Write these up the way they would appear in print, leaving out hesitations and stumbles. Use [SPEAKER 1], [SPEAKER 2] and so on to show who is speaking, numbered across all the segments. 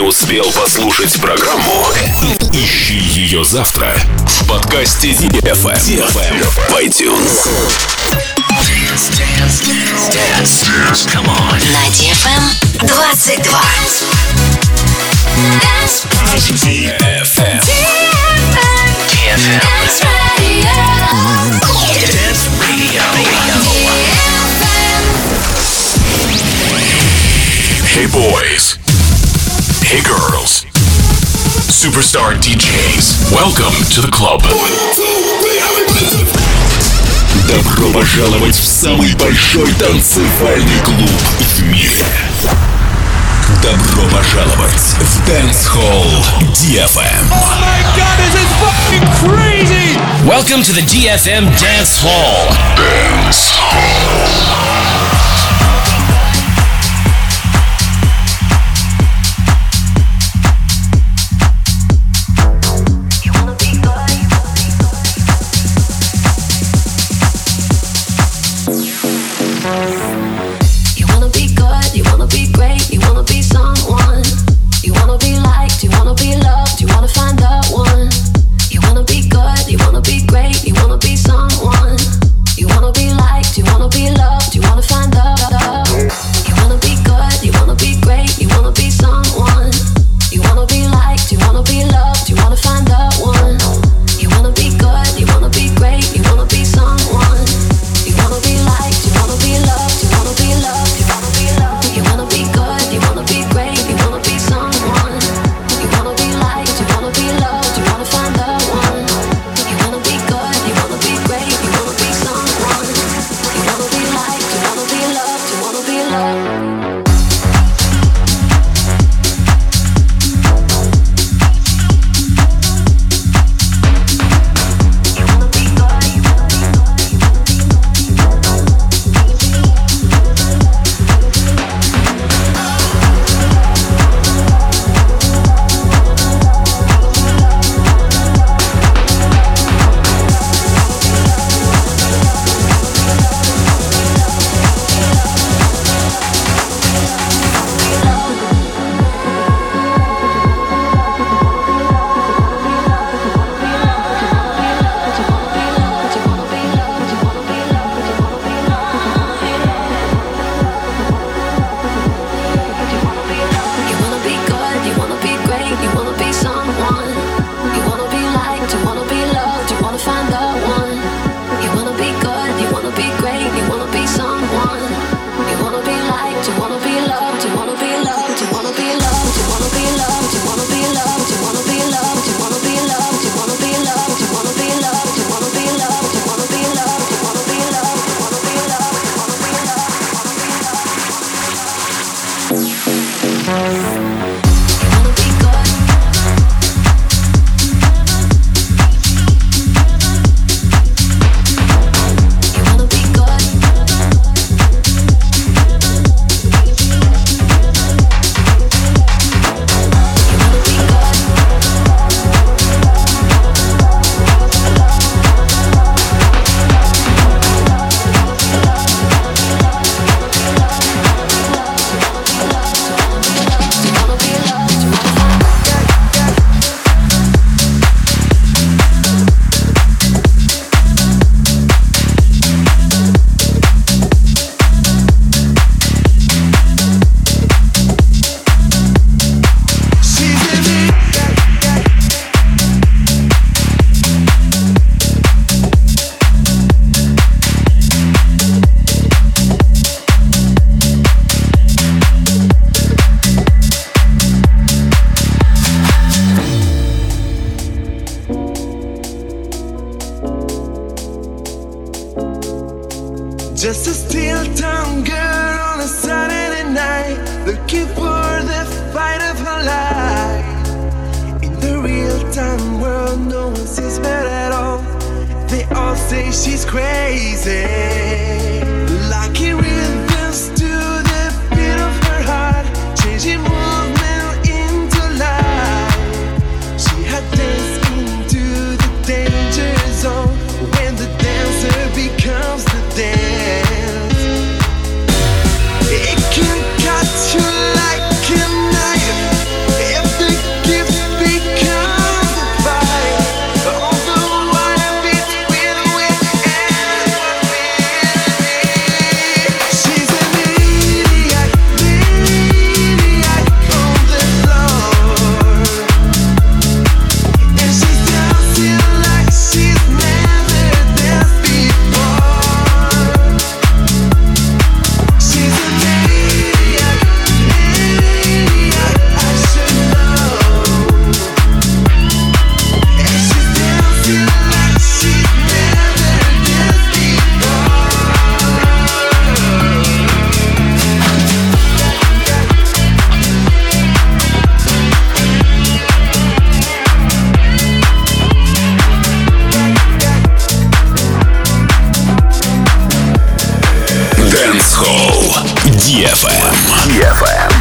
[SPEAKER 1] успел послушать программу? Ищи ее завтра в подкасте DFM в iTunes. Dance. Come on.
[SPEAKER 2] На DFM 22.
[SPEAKER 1] DFM.
[SPEAKER 2] Dance Radio.
[SPEAKER 1] Dance Radio. Hey boys. Hey girls. Superstar DJs. Welcome to the club. Добро пожаловать в самый большой танцевальный клуб в мире. Добро пожаловать в Dance Hall DFM.
[SPEAKER 3] Oh my god, this is fucking crazy!
[SPEAKER 4] Welcome to the DFM Dance Hall.
[SPEAKER 1] Dance Hall.
[SPEAKER 5] Just a steel tongue girl on a Saturday night, looking for the fight of her life. In the real-time world, no one sees her at all. They all say she's crazy. Lucky rhythms to the beat of her heart, changing movement into life. She had danced into the danger zone when the dancer becomes the dance. It can cut you like a knife if
[SPEAKER 1] DFM.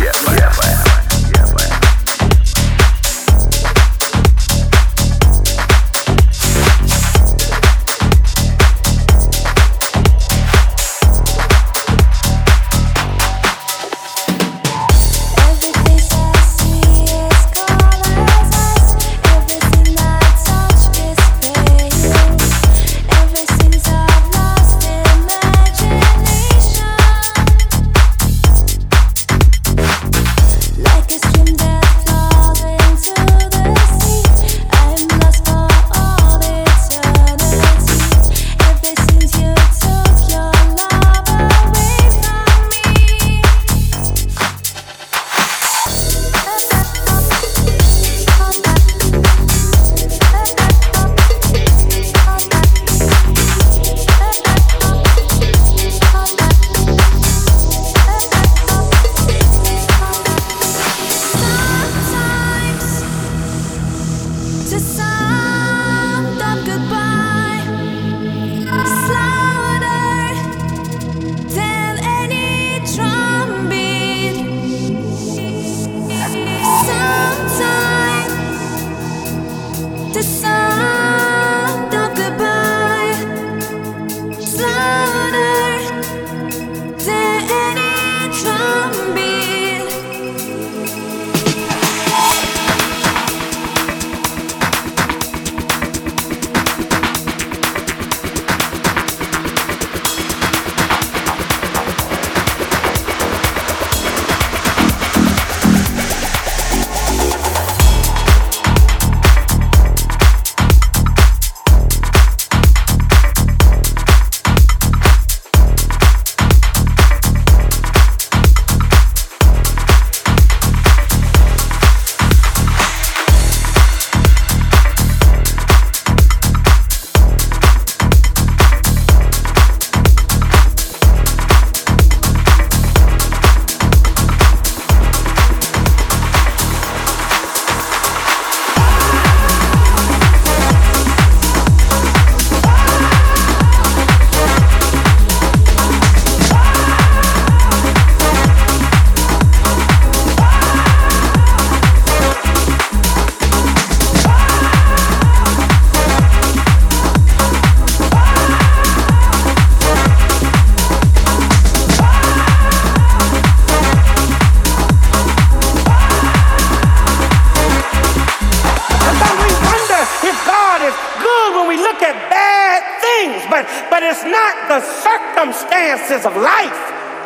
[SPEAKER 6] But it's not the circumstances of life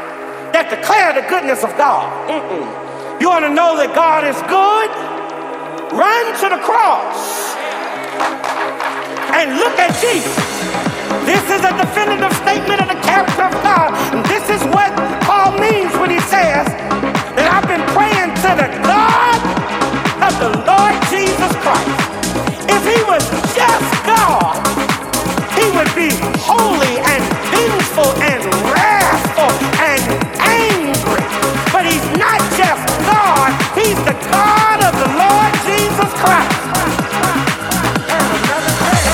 [SPEAKER 6] that declare the goodness of God. You want to know that God is good? Run to the cross and look at Jesus. This is a definitive statement of the character of God. And this is what Paul means when he says that I've been praying to the God of the Lord Jesus Christ. If he was just God, he would be holy and vengeful and wrathful and angry. But he's not just God, he's the God of the Lord Jesus Christ.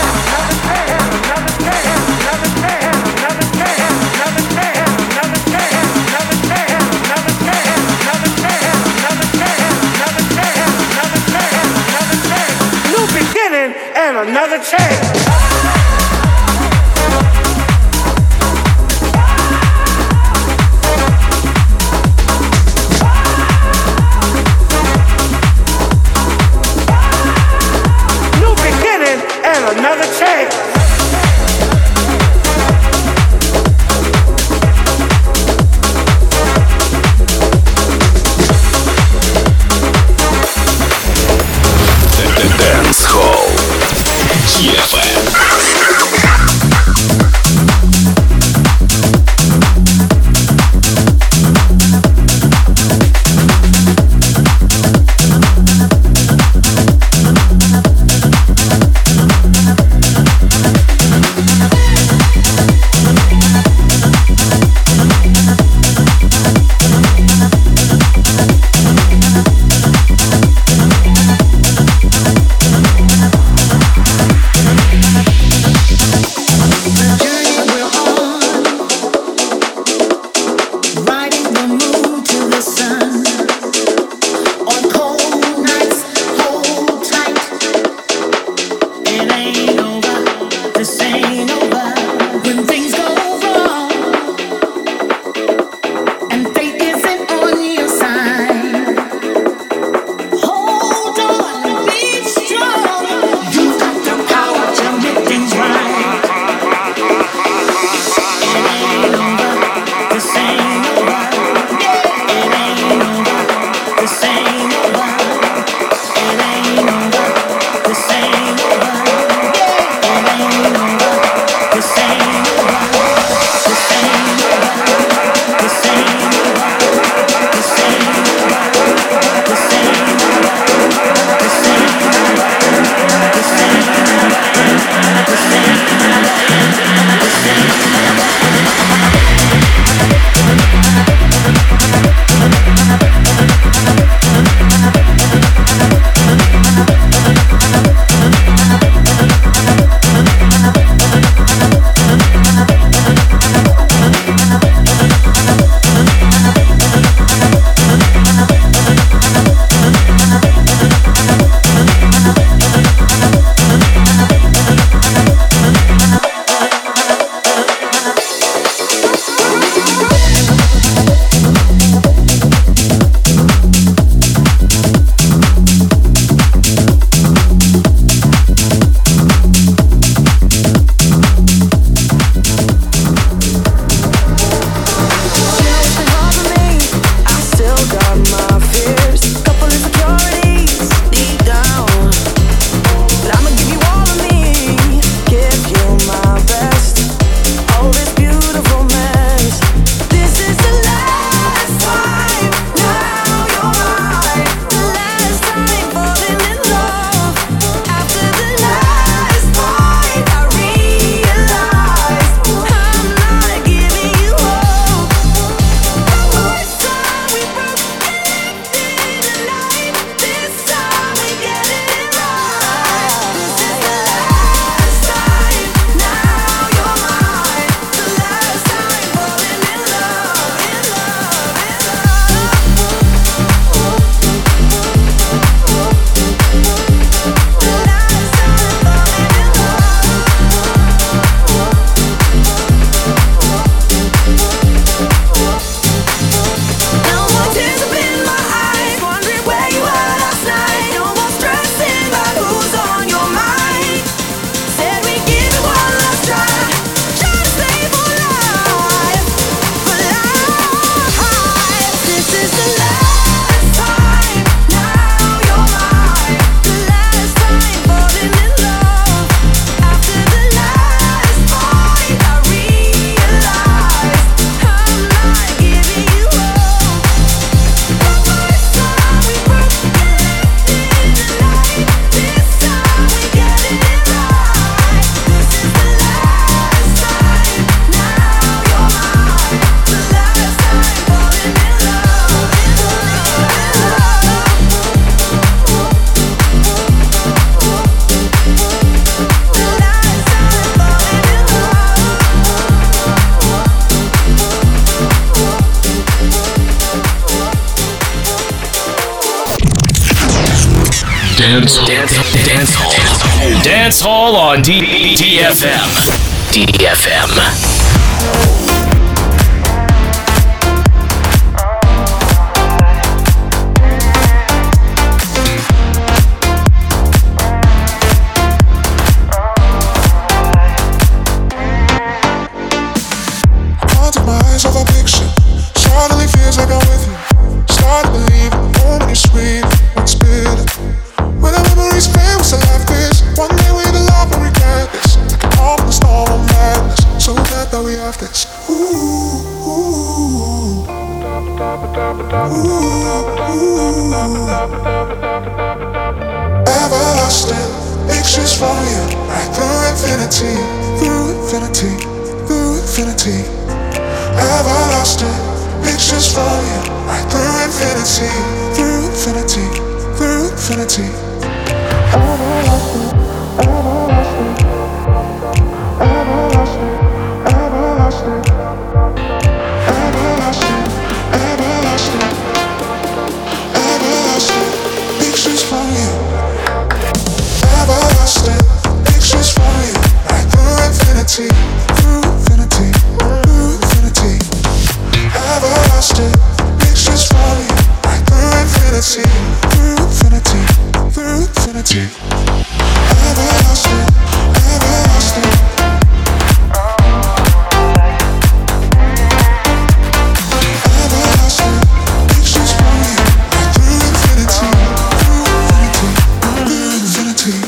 [SPEAKER 6] Another day.
[SPEAKER 4] Dance Hall on DFM. DFM.
[SPEAKER 7] Of a picture, suddenly feels like I'm with you. Start to believe the moment you sweet, what's bitter. When the memories fade, what's the life is. One day we the love and regret this. Like an awful storm of madness. So glad that we have this. Everlasting pictures from you, right through infinity, through infinity, through infinity. Everlasting pictures from you, right through infinity, through infinity, through infinity. Everlasting, everlasting, everlasting, everlasting, everlasting, everlasting, everlasting pictures from you. Everlasting pictures from you, right through infinity, through infinity. Everlasting pictures from you, right through infinity, through infinity, through infinity. Everlasting, everlasting. Everlasting pictures from you, right through infinity, through infinity, through infinity.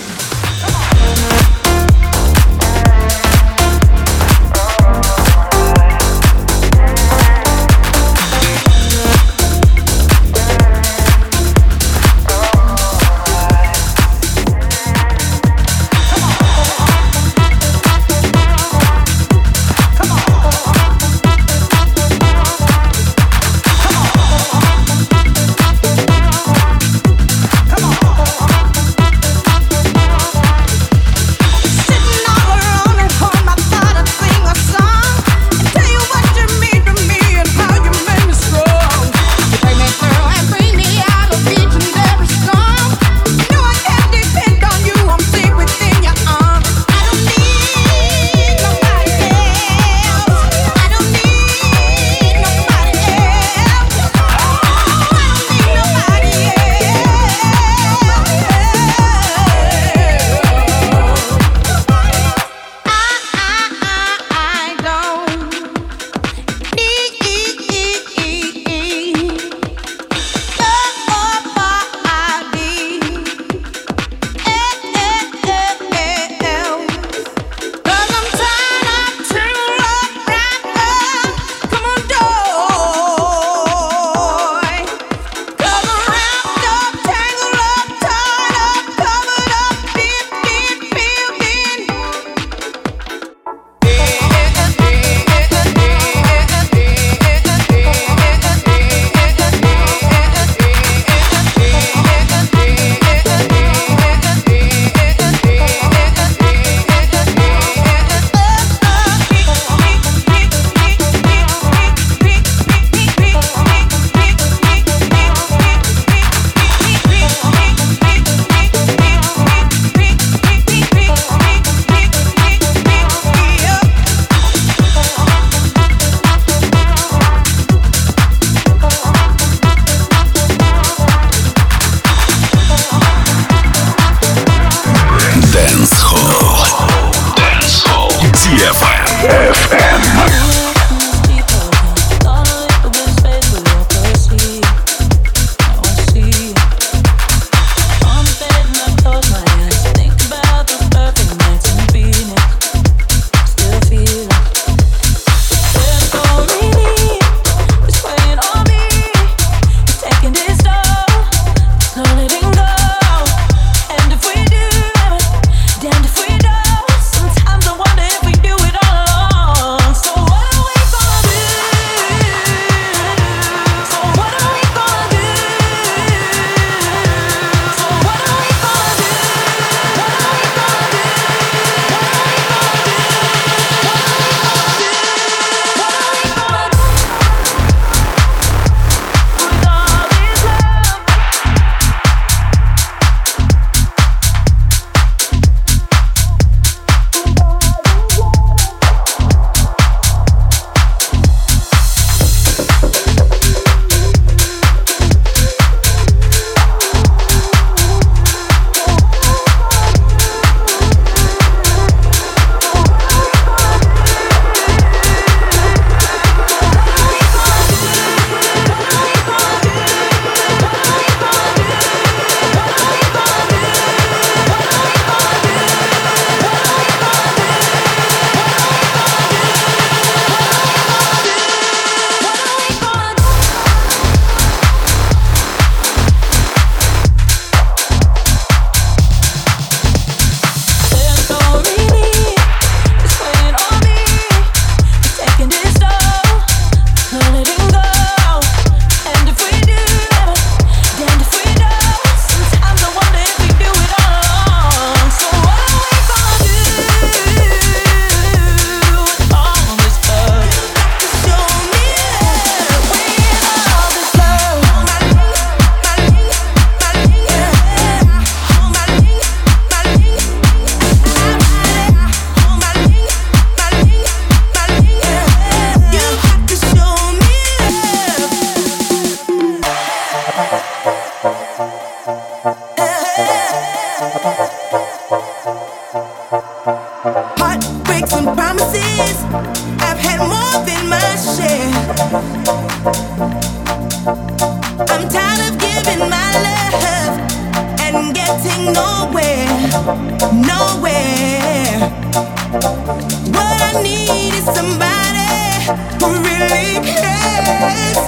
[SPEAKER 8] I'm tired of giving my love and getting nowhere, nowhere. What I need is somebody who really cares.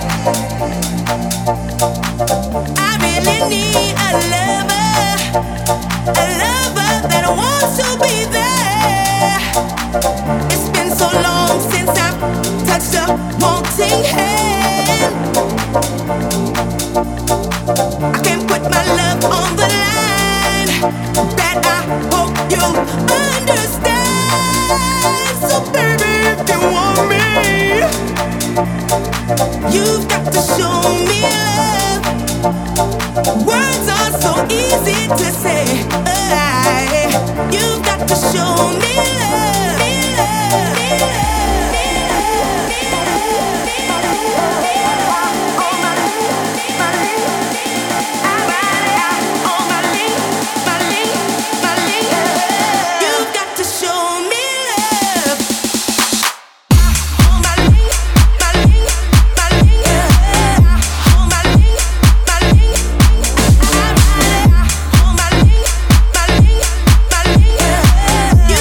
[SPEAKER 8] I really need a lover that wants to be there. It's been so long since I've touched a wanting hand. I can't put my love on the line. That I hope you'll understand. So baby, if you want me, you've got to show me love. Words are so easy to say. You've got to show me love. You've got to show me love. You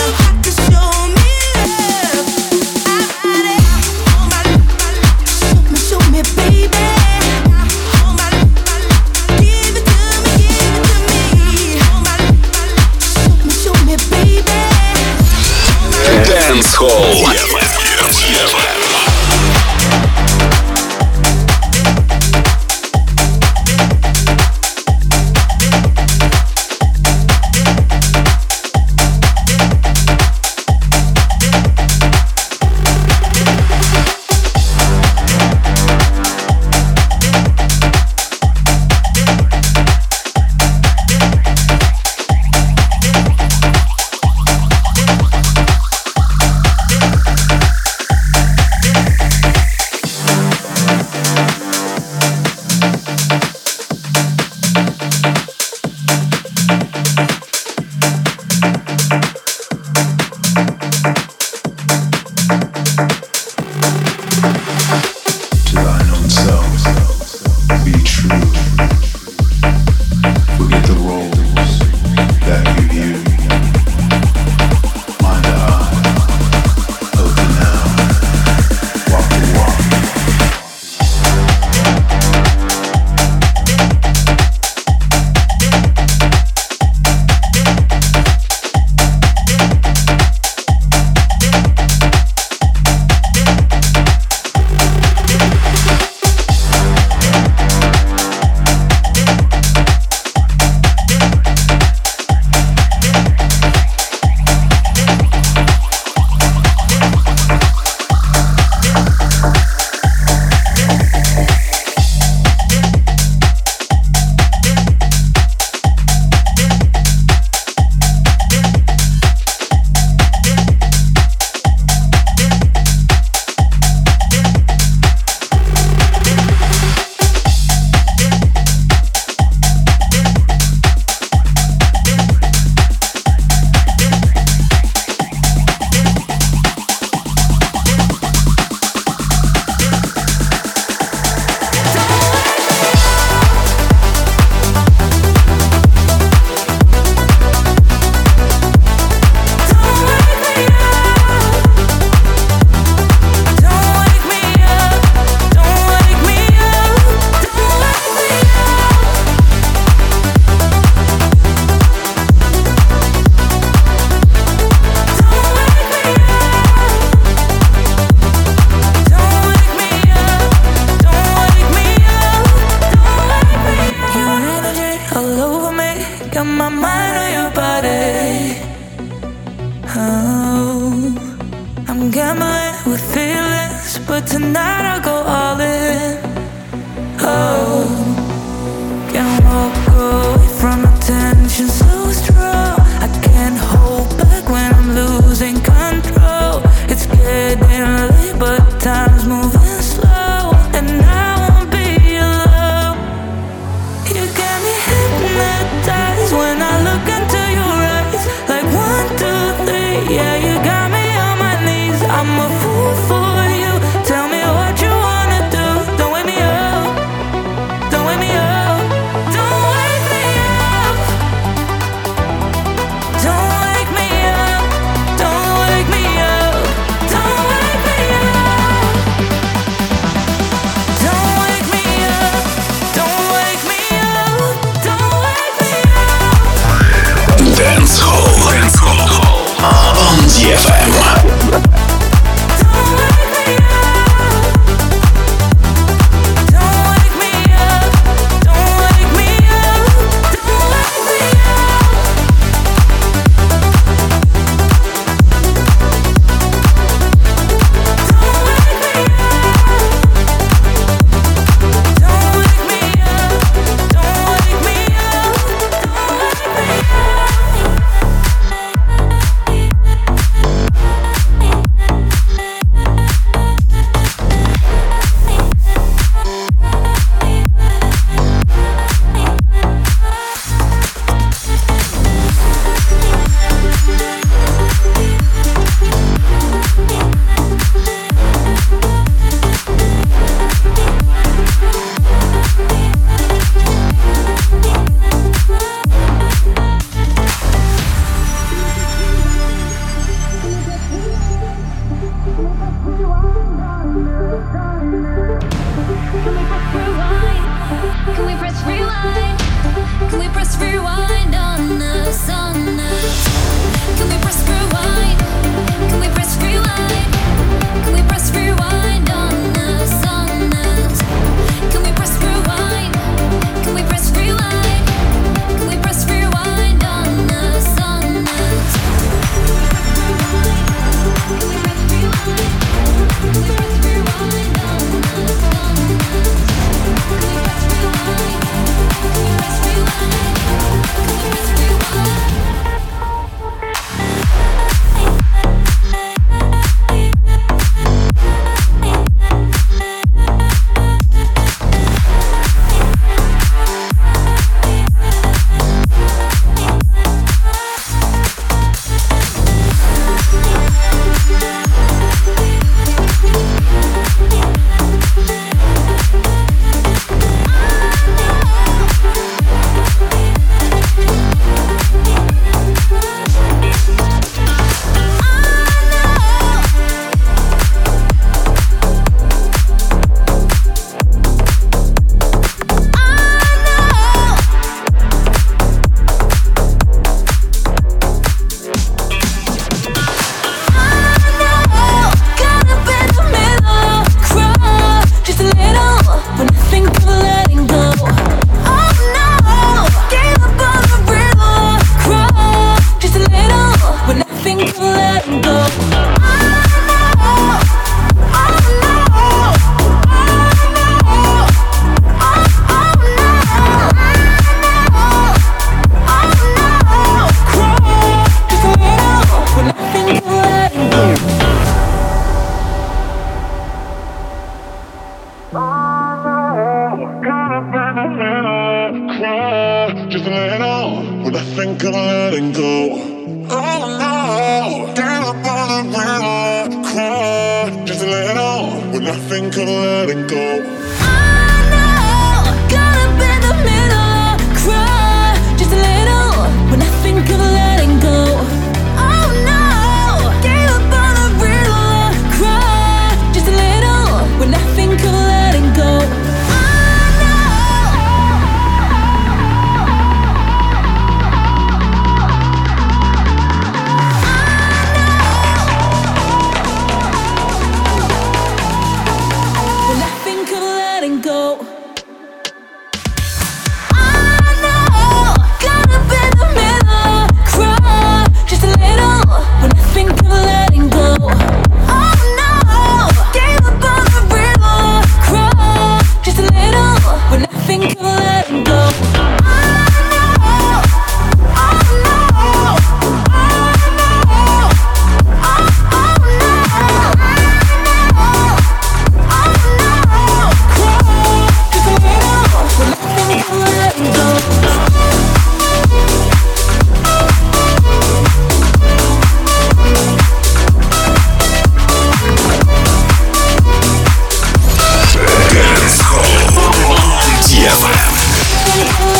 [SPEAKER 1] DFM.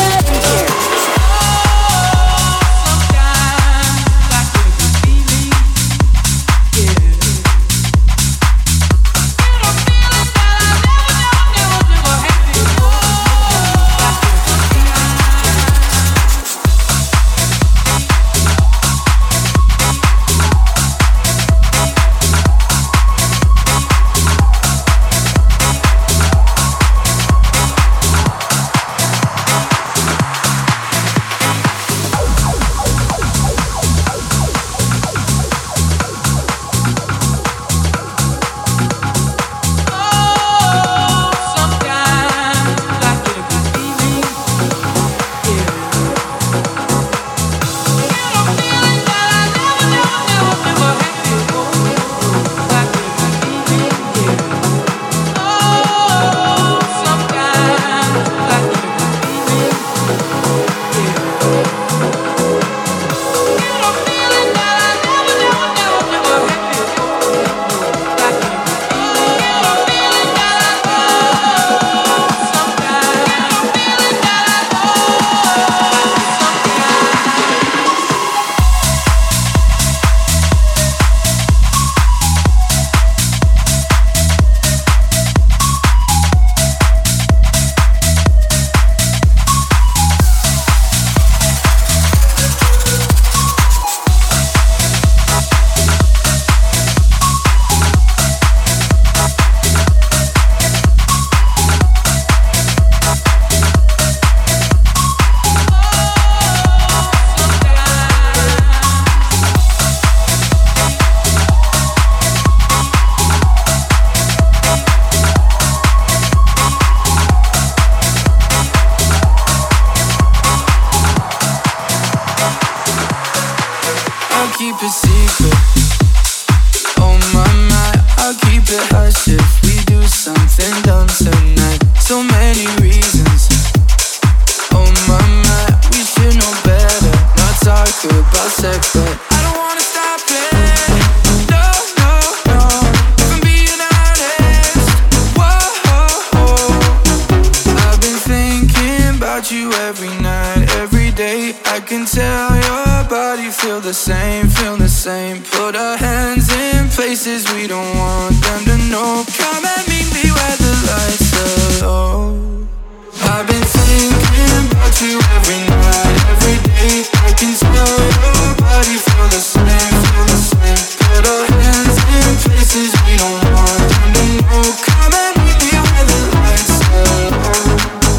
[SPEAKER 9] about you every night, every day. I can tell your body feel the same, feel the same. Put our hands in places we don't want them to know. Come and meet me where the lights are low. I've been thinking about you every night, every day. I can tell your body feel the same, feel the same. Put our hands in places we don't want them to know. Come and meet me where the lights are low.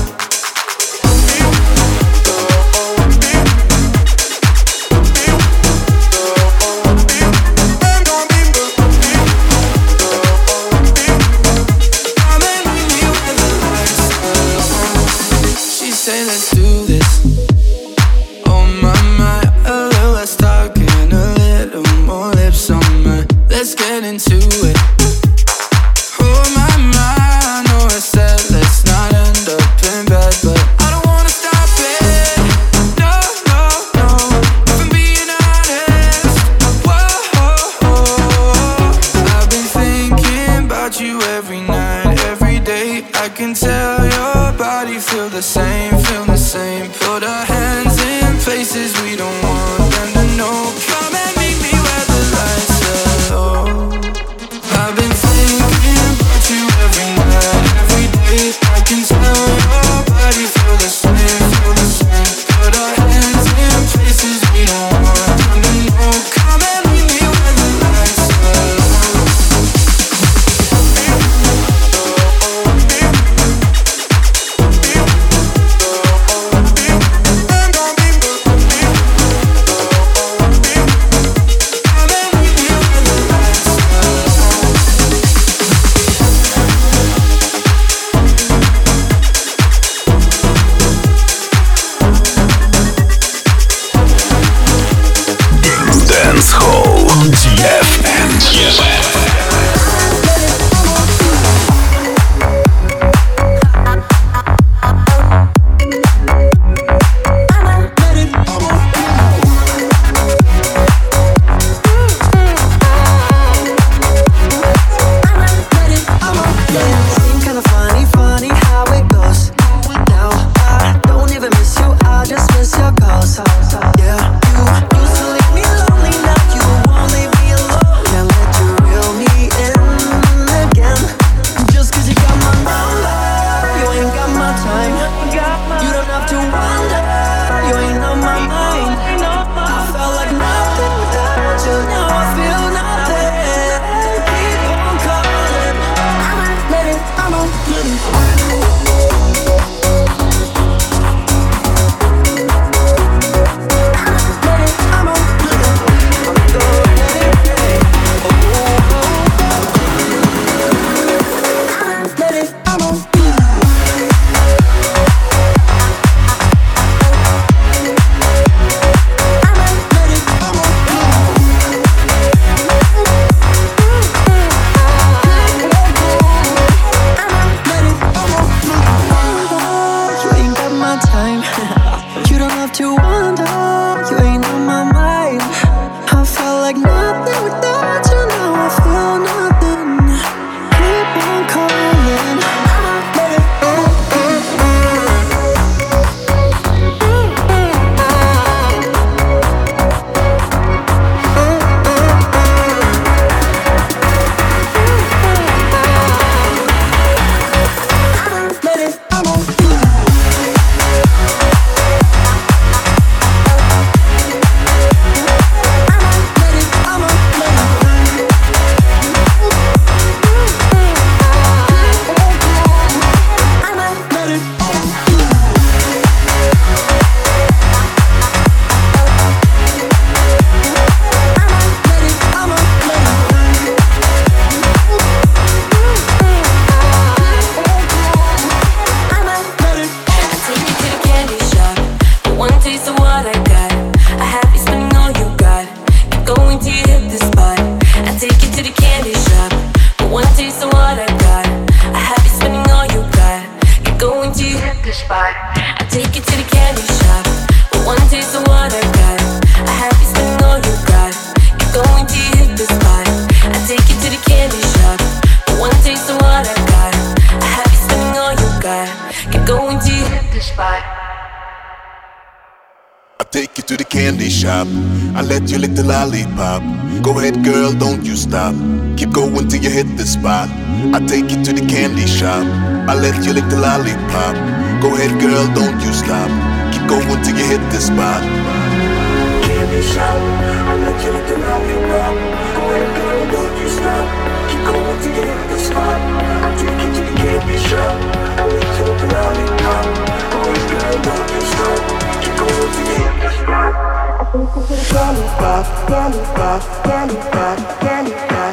[SPEAKER 9] Say let's do this. Oh my, my, a little less talking, a little more lips on mine. Let's get into it. Oh my, my, I know I said let's not end up in bed, but I don't wanna stop it. No, no, no, if I'm being honest. Whoa, I've been thinking about you every night, every day. I can tell your body feel the same, feel the same. Put our hands in places we don't want them to know. Come and meet me where the lights are low. I've been thinking about you every night, every day. I can tell your body feel the same, feel the same. Put our hands in places we don't want them to know. Come and meet me where the lights are low.
[SPEAKER 1] Dance Hall DFM.
[SPEAKER 8] Going to hit the spot.
[SPEAKER 7] take you to the candy shop. I let you lick the lollipop. Go ahead, girl, don't you stop. Keep going till you hit the spot. I take you to the candy shop. I let you lick the lollipop. Go ahead, girl, don't you stop. Keep going till you hit the spot. Candy shop. I let you lick the lollipop. Go ahead, girl, don't you stop. Keep going till you hit the spot. I take you to the candy shop. I let you lick the lollipop. Go ahead, girl, don't you stop. Keep going till you hit the spot. Candy pop, candy pop, candy pop, candy pop,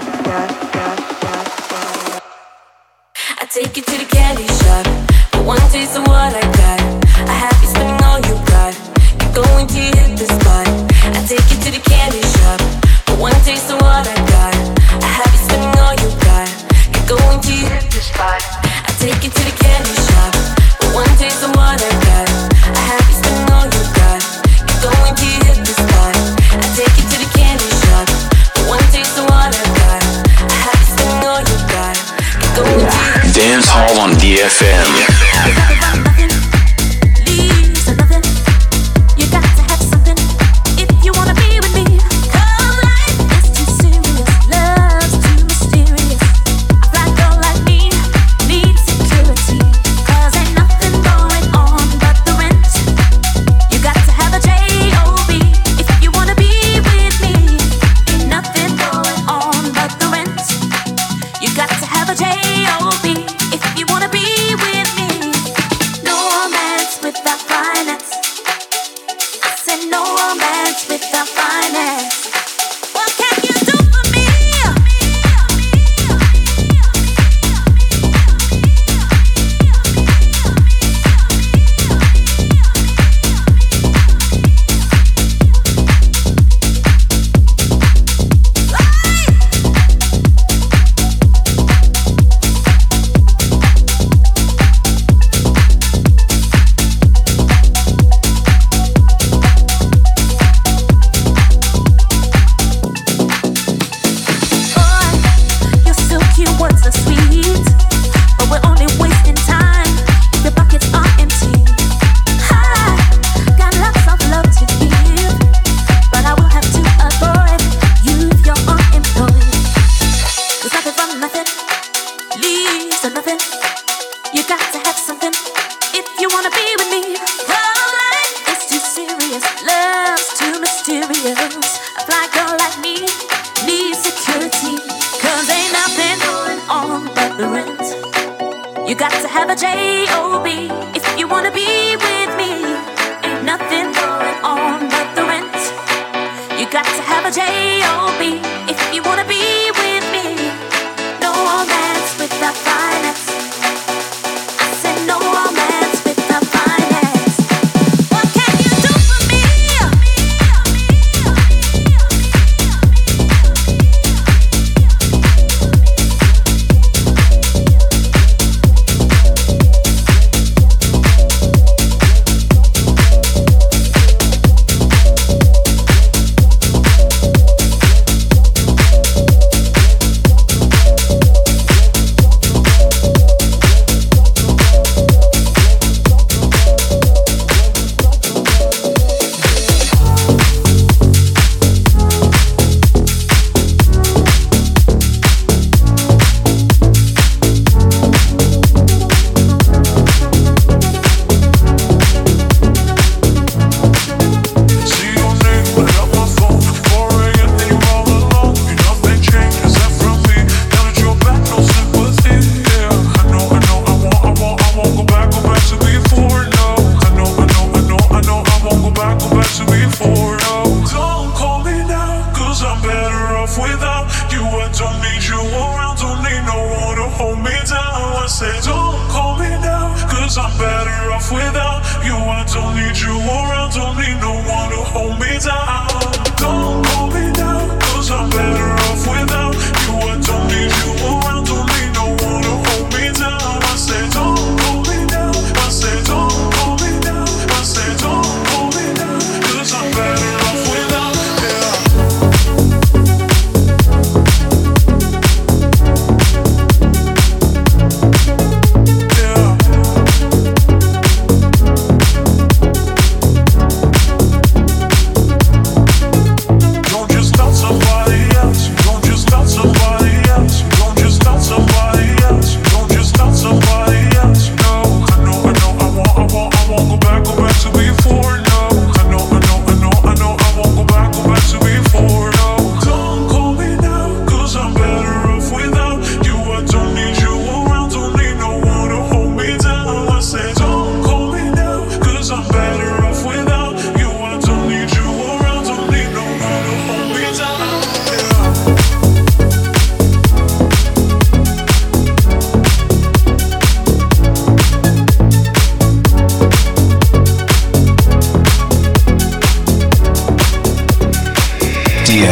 [SPEAKER 8] I take you to the candy shop. For one taste of what I got. I have you spending all you got. Keep going till you hit the spot. I take you to the candy shop. For one taste of what I got. I have you spending all you got. Keep going till you hit the spot. I take you to the candy shop. For one taste of what I got. I have you spending all you got. Keep going till you hit the spot. I take you to the candy shop. For one taste of what I got. I have you spending all you got. Keep going till you hit the spot.
[SPEAKER 4] Dance Hall on DFM.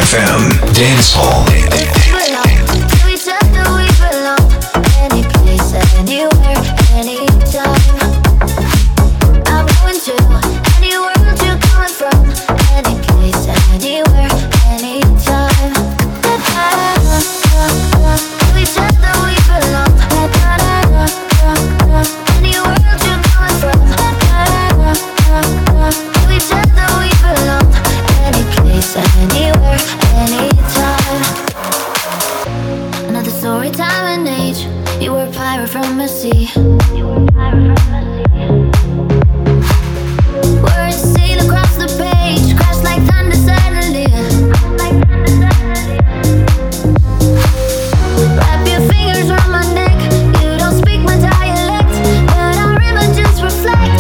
[SPEAKER 1] DFM Dance Hall.
[SPEAKER 10] From a sea. Words sail across the page, crash like thunder suddenly. Wrap your fingers around my neck. You don't speak my dialect, but our images reflect.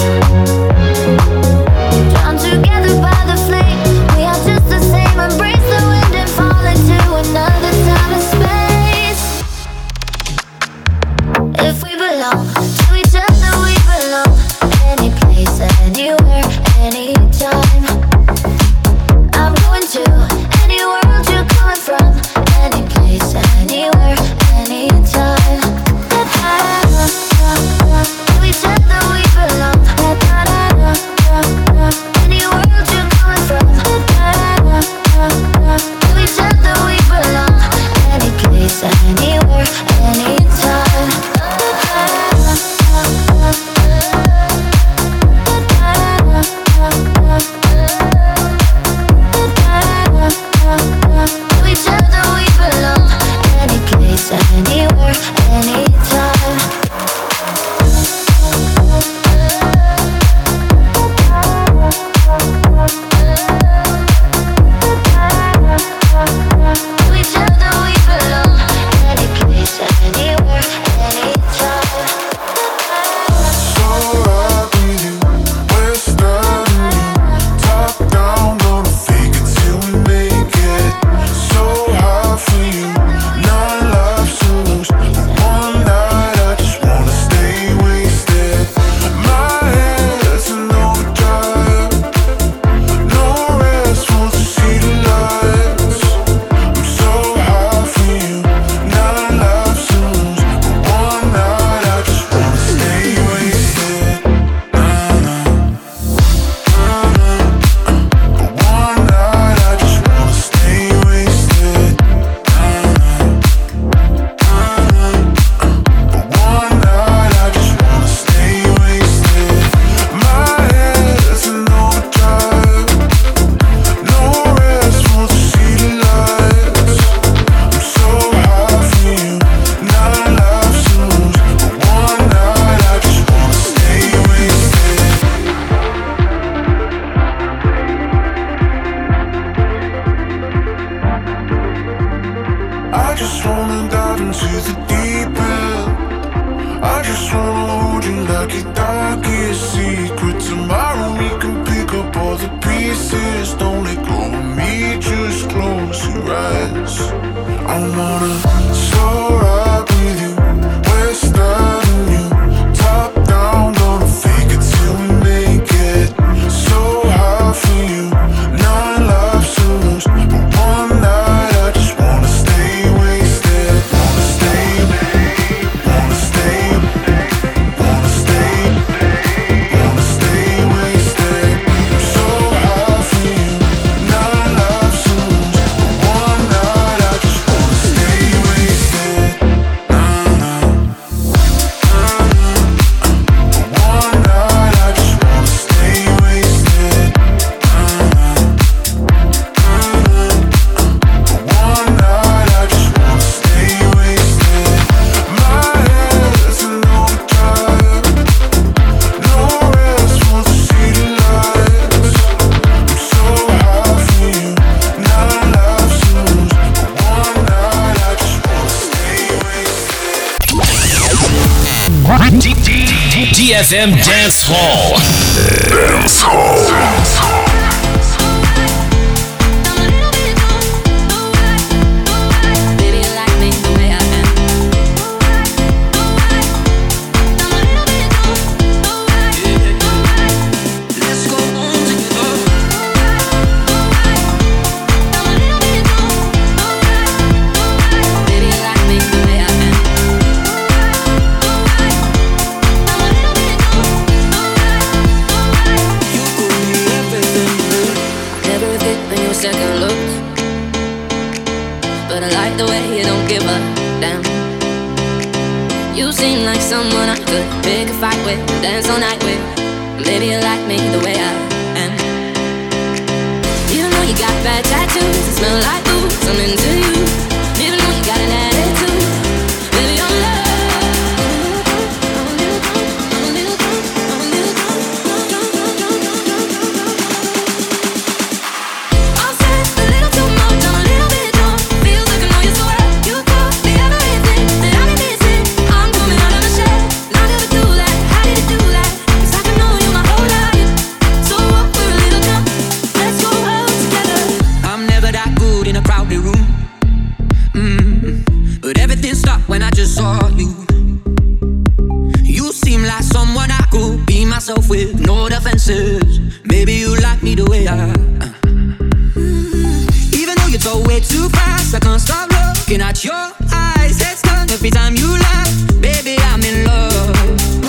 [SPEAKER 10] Drawn together by the flame, we are just the same. Embrace the wind and fall into another time and space. If we belong to each other, we belong. Any place, anywhere, anytime. I'm going to any world you're coming from. Any place, anywhere, anytime. To each other, we belong. Any world you're coming from. To each other, we belong. Any place, anywhere, anytime. To each other we belong. Any place, anywhere, anytime. To each other we belong. Any place, anywhere, anytime.
[SPEAKER 7] So right with you, west of you, top down, gonna fake it till we make it. So high for you, none left to lose. One night I just wanna stay wasted. My head's in overdrive, no rest, want to see the lights. I'm so high for you, none left to lose. One night I just wanna stay wasted. One night I just wanna stay wasted. One night I just wanna stay wasted. My head's in overdrive, no rest, want to see the lights. I'm so high for you, none left to lose. One night I just wanna stay wasted. I just wanna dive into the deep end. I just wanna hold you like your darkest secret. Tomorrow we can pick up all the pieces. Don't let go of me, just close your eyes. I wanna soar up with you, west of you, top down, gonna fake it till we make it. So high for you, none left to lose. But one night I just wanna stay wasted. Wanna stay, wanna stay, wanna stay, wanna stay wasted. I'm so high for you, none left to lose. But one night I just wanna stay wasted. One night I just wanna stay wasted. One night I just wanna stay wasted. My head's in overdrive, no rest, want to see the lights. I'm so high for you, none left to lose. One night I just wanna stay wasted.
[SPEAKER 3] DFM Dance Hall.
[SPEAKER 1] Dance Hall.
[SPEAKER 8] Baby, you like me the way I am. Let's go on together. like the way you don't give a damn. You seem like someone I could pick a fight with, dance all night with. Maybe you like me the way I am. Even though you got bad tattoos that smell like booze, I'm into you. Even though you got an attitude, baby, your love.
[SPEAKER 11] When I just saw you, you seem like someone I could be myself with, no defenses. Maybe you like me the way I Even though you go way too fast, I can't stop looking at your eyes. Head stuck every time you laugh. Baby, I'm in love.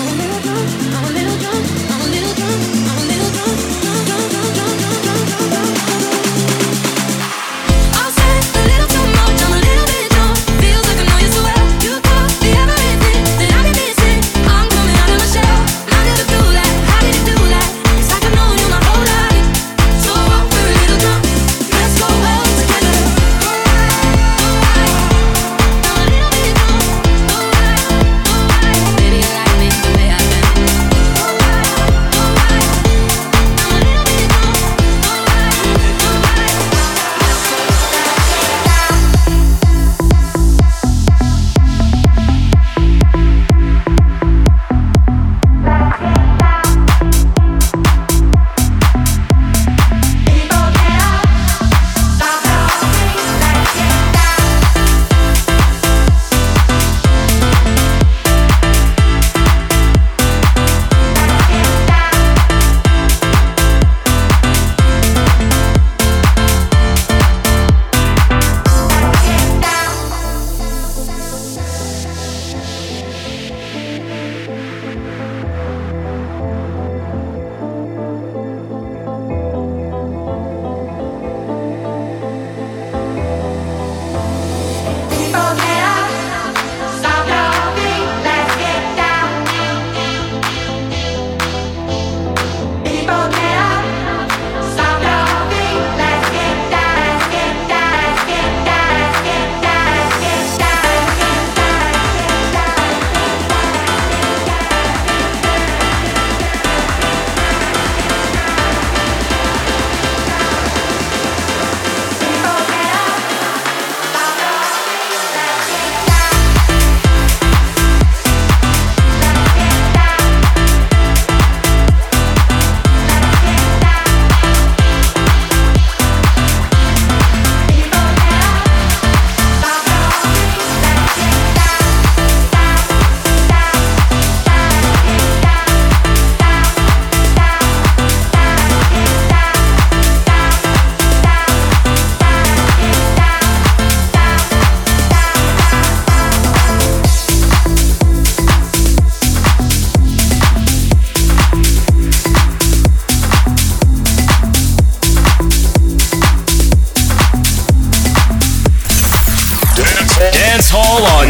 [SPEAKER 3] Dance Hall on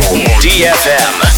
[SPEAKER 3] DFM.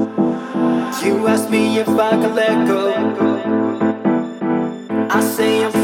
[SPEAKER 12] You ask me if I can let go. I say I'm